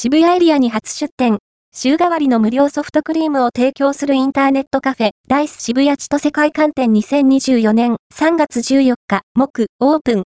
渋谷エリアに初出店。週替わりの無料ソフトクリームを提供するインターネットカフェ、ダイス渋谷千歳会館店2024年3月14日、木、オープン。